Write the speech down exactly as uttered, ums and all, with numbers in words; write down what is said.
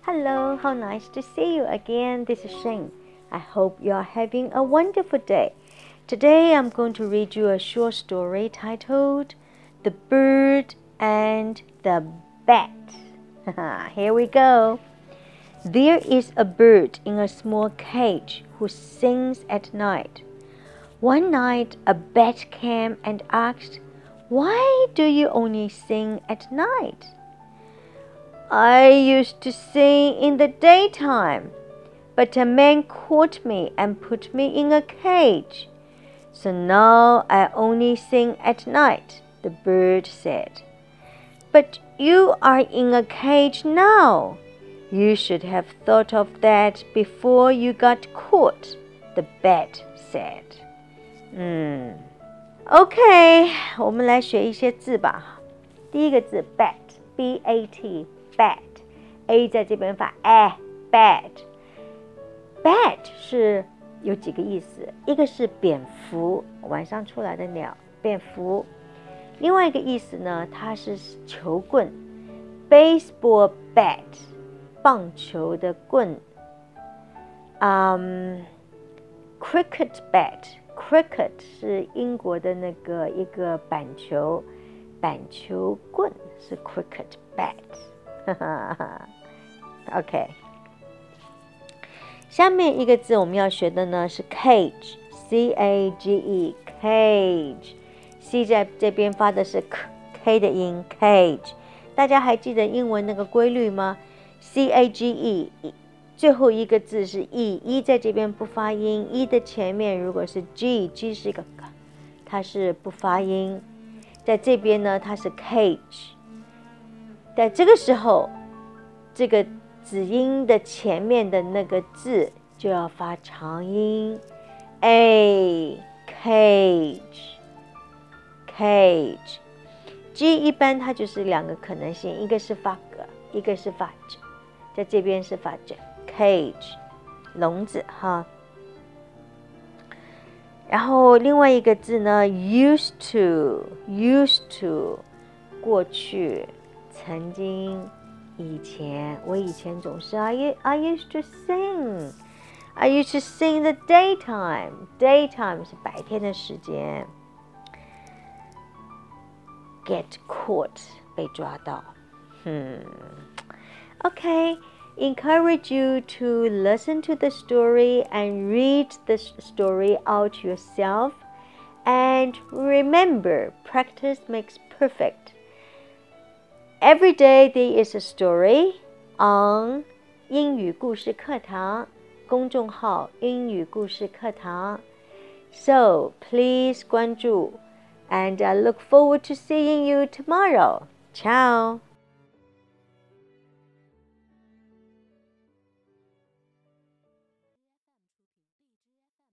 Hello, how nice to see you again. This is Shane. I hope you are having a wonderful day. Today I'm going to read you a short story titled The Bird and the Bat. Here we go. There is a bird in a small cage who sings at night. One night a bat came and asked, "Why do you only sing at night?" "I used to sing in the daytime, but a man caught me and put me in a cage. So now I only sing at night," the bird said. "But you are in a cage now. You should have thought of that before you got caught," the bat said. 嗯 OK 我们来学一些字吧。第一个字 bat B A T bat A 在这边发 a bat bat 是有几个意思，一个是蝙蝠，晚上出来的鸟，蝙蝠。另外一个意思呢，它是球棍 baseball bat 棒球的棍。um, cricket bat cricket 是英国的那个一个板球，板球棍是 cricket bat OK 下面一个字我们要学的呢是 cage C A G E cage C 在这边发的是 K, K 的音 cage 大家还记得英文那个规律吗？ C A G E 最后一个字是 E E 在这边不发音 E 的前面如果是 G G 是一个它是不发音，在这边呢它是 cage， 在这个时候这个子音的前面的那个字就要发长音 A cage cage G 一般它就是两个可能性，一个是发格，一个是发 J， 在这边是发 J cage 笼子哈。然后另外一个字呢 used to used to 过去曾经以前，我以前总是 I, I used to sing I used to sing the daytime daytime 是白天的时间。 get caught 被抓到。hmm. Okay, encourage you to listen to the story and read the story out yourself. And remember, practice makes perfect. Every day there is a story on 英语故事课堂公众号英语故事课堂 So please 关注 and I look forward to seeing you tomorrow. Ciao!